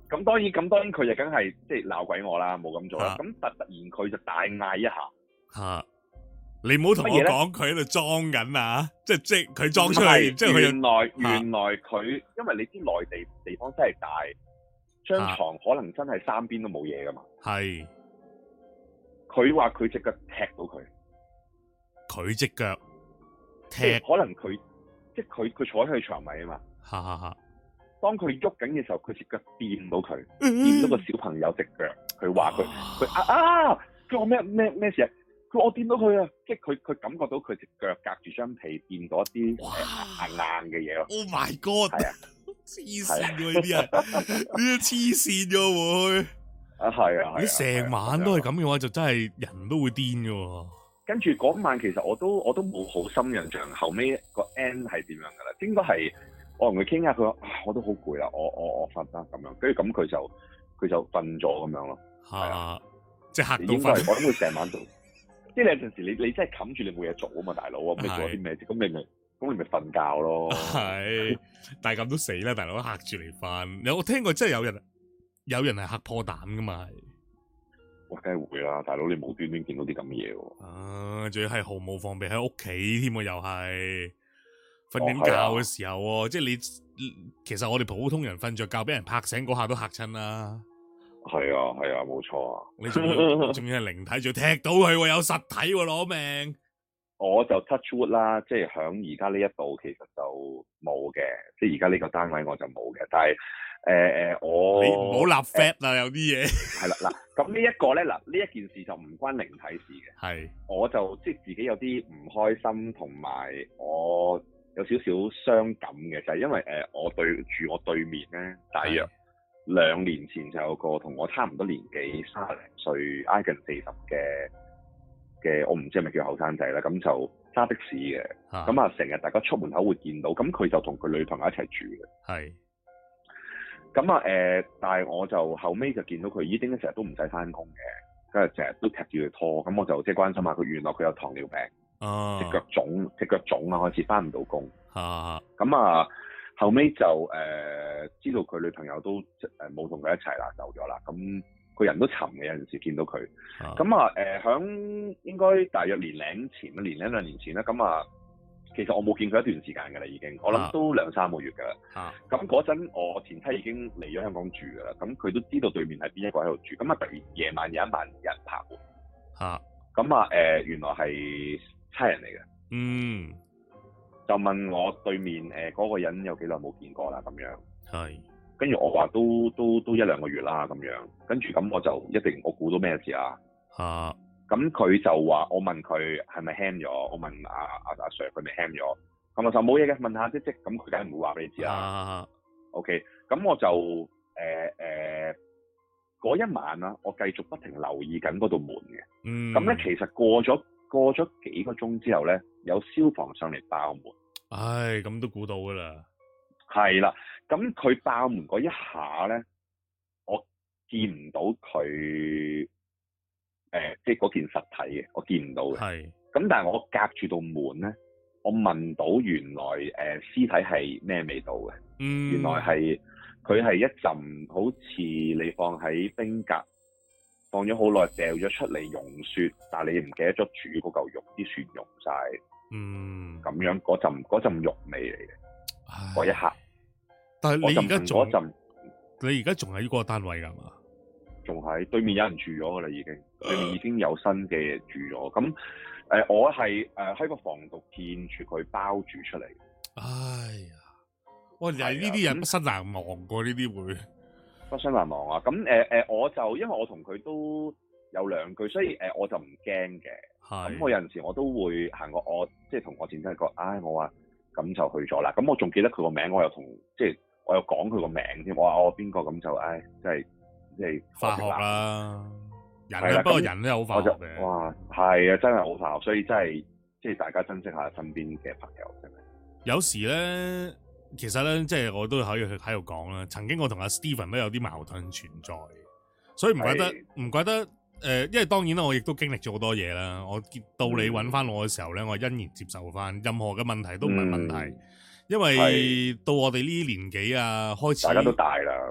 咁當然咁當然佢就梗係即係鬧鬼我啦，冇咁做啦。咁、啊、突突然佢就大嗌一下吓。啊你唔好同我講佢喺度裝緊啊！即係即係佢裝出嚟，即係佢原來原來佢，因為你知內地地方真係大，張床可能真係三邊都冇嘢噶嘛。係。佢話佢隻腳踢到佢， 佢隻腳踢， 可能佢即係佢佢坐喺佢床位啊嘛。 哈哈哈！當佢喐緊嘅時候，佢隻腳掂到佢，掂到個小朋友隻腳。佢話佢佢啊啊！佢話咩咩咩事啊？佢我掂到佢啊，即係佢佢感覺到佢隻腳隔住張被掂到一啲硬硬嘅嘢咯。Oh my god！係啊，黐線㗎呢啲啊，呢啲黐線㗎會啊係啊！ 你成晚都係咁嘅話，就真係人都會癲㗎。 跟住嗰晚其實我都我都冇好深印象，後尾個 end 係點樣㗎啦？應該係我同佢傾下，佢話我都好攰啦，我我我瞓啦咁樣。跟住咁佢就佢就瞓咗咁樣咯。係啊，即係嚇到瞓。我諗佢成晚都。即係有陣時你你真係冚住你冇嘢做啊嘛，大佬啊，咁你做啲咩啫？咁你咪咁你咪瞓覺咯。係，但係咁都死啦，大佬嚇住嚟瞓。有我聽過真係有人有人係嚇破膽噶嘛？係，哇，梗係會啦，大佬你無端端見到啲咁嘅嘢喎。啊，仲要係毫無防備喺屋企添喎，又係瞓緊覺嘅時候喎，哦，即係你其實我哋普通人瞓着覺俾人拍醒嗰下都嚇親啦。係啊係啊，冇錯啊！你仲要仲要係靈體，仲踢到佢喎，有實體喎，攞命！我就 touch wood 啦，即係響而家呢一度其實就冇嘅，即係而家呢個單位我就冇嘅。但係誒誒，我你唔好立 fat 啊，有啲嘢係啦嗱。咁呢一個咧嗱，呢一件事就唔關靈體事嘅。係，我就即係自己有啲唔開心，同埋我有少少傷感嘅，就係因為誒我對住我對面咧，大約兩年前就有個同我差唔多年紀，三十零歲挨近四十嘅嘅，我唔知係咪叫後生仔啦。咁就揸的士嘅，咁啊成日大家出門口會見到。咁佢就同佢女朋友一齊住嘅。係。咁啊誒，但係我就後尾就見到佢已經成日都唔使翻工嘅，跟住成日都踢住佢拖。咁我就即係關心下佢，原來佢有糖尿病，隻腳腫，隻腳腫啊，開始翻唔到工。啊。咁啊。後尾就誒、呃、知道佢女朋友都誒冇同佢一齊啦，走咗啦。咁個人都沉嘅，有陣時見到佢。咁啊誒，響、呃、應該大約年零前啦，年零兩年前啦。咁啊，其實我冇見佢一段時間㗎啦，已經。我諗都兩三個月㗎啦。咁嗰陣我前妻已經嚟咗香港住㗎啦。咁佢都知道對面係邊一個喺度住。咁啊，突然夜晚有一晚有人拍門。嚇！咁啊誒，原來係差人嚟嘅。嗯。就問我對面誒嗰、呃那個人有幾耐冇見過啦咁樣，係，跟住我話都都都一兩個月啦咁樣，跟住咁我就一定我估到咩事啊嚇，咁佢就話我問佢係咪 ham 咗，我問阿阿阿 Sir 佢咪 ham 咗，咁我就冇嘢嘅，問下即即，咁佢梗係唔會話俾你知啦。啊、OK，咁我就誒誒嗰一晚啦，我繼續不停留意緊嗰道門嘅，嗯，咁咧其實過咗。過咗幾個鐘之後咧，有消防上嚟爆門。唉，咁都估到噶啦。係啦，咁佢爆門嗰一下咧，我見唔到佢誒、呃，即係嗰件實體嘅，我見唔到嘅。係。咁但係我隔住道門咧，我聞到原來誒、呃、屍體係咩味道嘅？嗯。原來係佢係一陣好似你放喺冰格。放咗好耐，掉咗出嚟溶雪，但係你唔記得咗煮嗰嚿肉，啲雪溶晒，嗯，咁樣嗰陣嗰陣肉味嚟嘅，嗰一刻。但係你而家仲，你而家仲喺呢個單位㗎嘛？仲喺對面有人住咗㗎啦，已經、呃、對面已經有新嘅住咗。咁誒、呃，我係誒喺個房度見住佢包住出嚟。哎呀，喂，又係呢啲人不生難忘過呢啲會。不相難忘啊！咁誒誒，我就因為我同佢都有兩句，所以誒、呃、我就唔驚嘅。係。咁我有陣時我都會行過我，我即係同我前妻講，唉，我話咁就去咗啦。咁我仲記得佢個名，我又同即係我又講佢個名添。我話我邊個咁就唉，即係即係化學啦。人啊，不過人都有好化學嘅。哇，係啊，真係好化學，所以真係即係大家珍惜下身邊嘅朋友，真係。有時咧。其實咧，即係我都可以喺度講啦。曾經我同阿 Steven 都有啲矛盾存在，所以唔怪得唔怪得誒、呃，因為當然啦，我亦都經歷咗好多嘢啦。我到你揾翻我嘅時候咧，我欣然接受翻，任何嘅問題都唔係問題，嗯、因為到我哋呢啲年紀啊，開始大家都大啦。誒、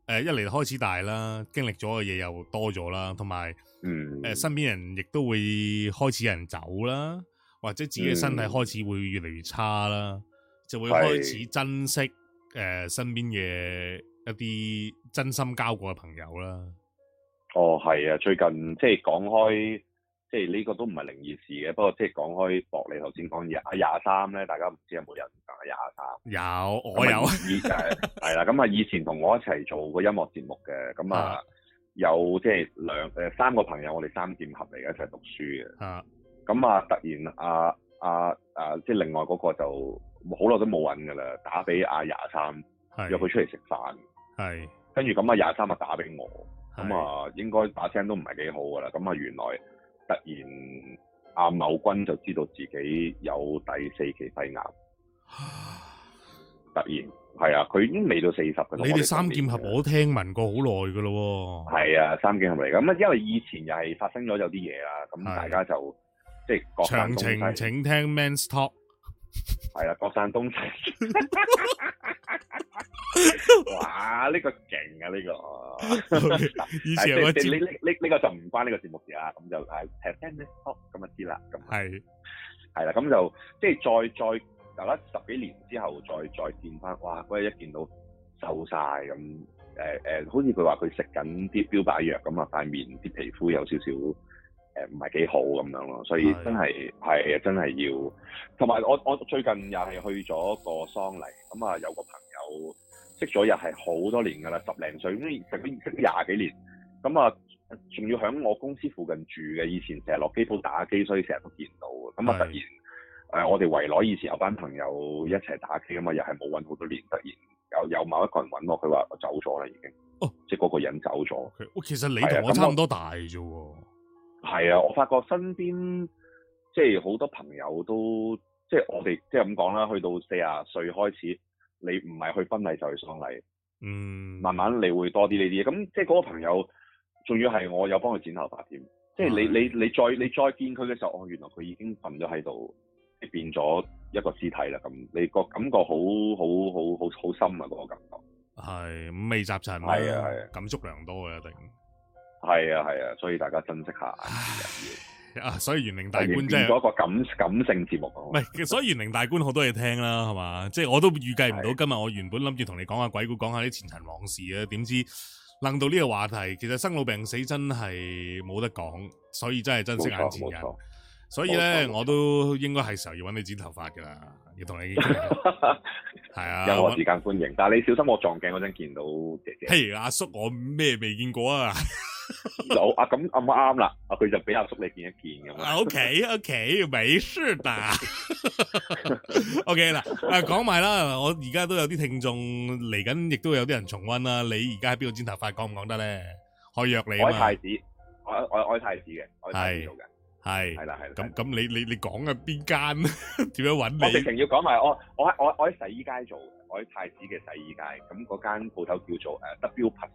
誒一嚟開始大啦，經歷咗嘅嘢又多咗啦，同埋嗯誒身邊人亦都會開始有人走啦，或者自己嘅身體開始會越嚟越差啦，嗯、就會開始珍惜誒、呃、身邊嘅一啲真心交過嘅朋友啦。 哦，係啊，最近即係講開。即係呢個都唔係靈異事嘅，不過即係講開博，你頭先講廿廿三咧，大家唔知有冇人講廿三？ 有，我有。 以誒係啦，咁啊以前同我一齊做過音樂節目嘅，咁啊有即係兩誒三個朋友，我哋三劍俠嚟嘅一齊讀書嘅。啊，咁啊突然啊啊啊即係另外嗰個就好耐都冇揾㗎啦，打俾阿廿三，約佢出嚟食飯。係。跟住咁啊廿三啊打俾我，咁啊應該把聲都唔係幾好㗎啦，咁啊原來。突然阿某君就知道自己有第四期肺癌，突然係啊，佢已經未到四十嘅。 你哋三劍俠我聽聞過好耐㗎咯喎。係啊，三劍俠嚟㗎。咁啊，因為以前又係發生咗有啲嘢啦，咁大家就即係各散東西。 詳情請聽 Men's Talk。 係啊，各散東西。哇！呢、這個勁啊，呢、這個 okay, 以前我知呢呢呢呢個就唔關呢個節目事啦，咁就係聽 Men's Talk 咁就知啦。咁係係啦，咁就即係再再大家十幾年之後再再見翻，哇！嗰日一見到瘦晒咁，誒誒、呃，好似佢話佢食緊啲標靶藥咁啊，塊面啲皮膚有少少誒唔係幾好咁樣咯，所以真係係真係要。同埋我我最近又係去咗個喪禮，咁啊有個朋友。識咗又係好多年㗎啦，十零歲咁，成咗識咗廿幾年，咁啊，仲要喺我公司附近住嘅，以前成日落機鋪打機，所以成日都見到嘅。咁啊，突然誒、呃，我哋圍內以前有班朋友一齊打機啊嘛，又係冇揾好多年，突然有有某一個人揾我，佢話我走咗啦已經。哦，即係嗰個人走咗。Okay. 其實你同我差唔多大啫喎。 係啊，我發覺身邊即係好多朋友都即係我哋即係咁講啦，去到四十歲開始。你唔係去婚禮就去喪禮，嗯，慢慢你會多啲呢啲嘢。咁即係嗰個朋友，仲要係我有幫佢剪頭髮添。即係你你你再你再見佢嘅時候，哦，原來佢已經瞓咗喺度，變咗一個屍體啦。咁你個感覺好好好好好深啊！嗰個感覺係五味雜陳， 係啊係啊， 感觸良多嘅一定。 係啊係啊，所以大家珍惜下。 啊，所以玄靈大觀真係一個感感性節目。 唔係，所以玄靈大觀好多嘢聽啦，係嘛？即係我都預計唔到今日我原本諗住同你講下鬼故，講下啲前塵往事啊，點知楞到呢個話題，其實生老病死真係冇得講，所以真係珍惜眼前人。所以咧，我都應該係時候要揾你剪頭髮噶啦，要同你係啊， 有我時間歡迎，但係你小心我撞鏡嗰陣見到姐姐。 譬如阿叔，我咩未見過啊？ 有啊，咁啱啱啦，啊佢就俾阿叔你見一見咁啊。 O K O K， 沒事的。O K 啦，誒講埋啦，我而家都有啲聽眾嚟緊，亦都有啲人重溫啦。你而家喺邊度剪頭髮，講唔講得咧？可以約你啊嘛。 我喺太子，我我我喺太子嘅，我喺太子做嘅。係係啦係啦。 咁咁你你你講嘅邊間？點樣揾你？ 我直情要講埋，我我喺我我喺洗衣街做，我喺太子嘅洗衣街。咁嗰間鋪頭叫做誒 W Plus。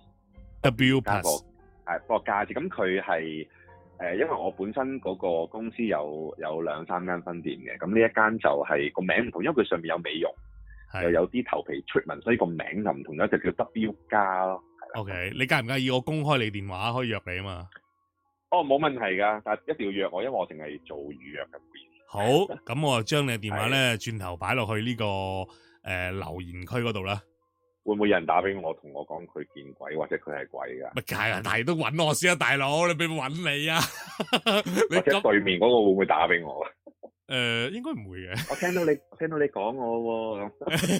W Plus。 係個價字，咁佢係誒，因為我本身嗰個公司有有兩三間分店嘅，咁呢一間就係個名唔同，因為佢上面有美容，又有啲頭皮 treatment，所以個名就唔同咗，就叫 W 加咯。 O K，你介唔介意我公開你電話可以約你啊嘛？ 哦，冇問題噶，但係一定要約我，因為我淨係做預約嘅。 好，咁我就將你嘅電話咧轉頭擺落去呢、這個誒、呃、留言區嗰度啦。 會唔會有人打俾我，同我講佢見鬼，或者佢係鬼噶？ 咪係啊，但係都揾我先啊，大佬，你俾我揾你啊！你或者對面嗰個會唔會打俾我？ 誒、呃，應該唔會嘅。 我聽到你，我聽到你講我喎。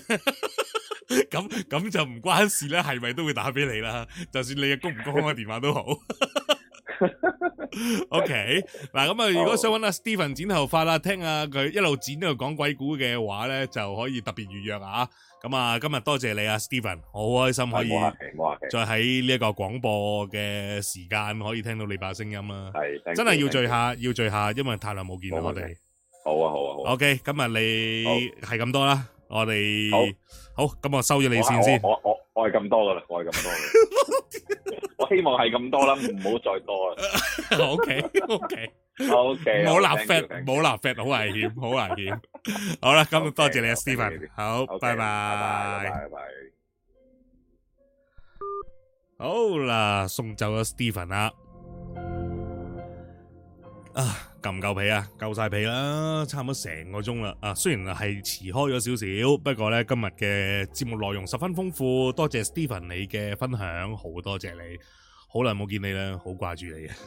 咁咁就唔關事啦，係咪都會打俾你啦？就算你嘅公唔公開電話都好。OK，嗱咁啊，如果想揾阿 Steven 剪頭髮啦，聽下佢一路剪一路講鬼故嘅話咧，就可以特別預約啊！咁啊，今日多謝你啊 ，Steven，我好開心可以再喺呢一個廣播嘅時間可以聽到你把聲音啦。係，真係要聚下，要聚下，因為太耐冇見啦，我哋。好啊，好啊，好啊。OK，今日你係咁多啦，我哋好，咁我收咗你線先。 我我我係咁多噶啦，我係咁多嘅。我希望係咁多啦，唔好再多啦。 OK，OK。 O K， 唔好立 fat， 唔好立 fat， 好危險，好危險。好啦，咁多謝你啊 ，Steven。好，拜拜。拜拜。 好啦，送走咗 Stephen 啦。啊，夠唔夠皮啊？夠晒皮啦，差唔多成個鐘啦。啊，雖然係遲開咗少少，不過咧今日嘅節目內容十分豐富，多謝 Stephen 你嘅分享，好多謝你，好耐冇見你啦，好掛住你啊。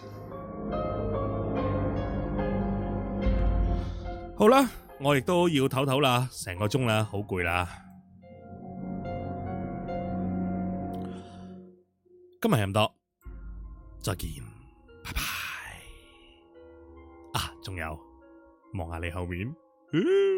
好啦，我亦都要唞唞啦，成個鐘啦，好攰啦。今日係咁多，再見，拜拜。啊，仲有，望下你後面。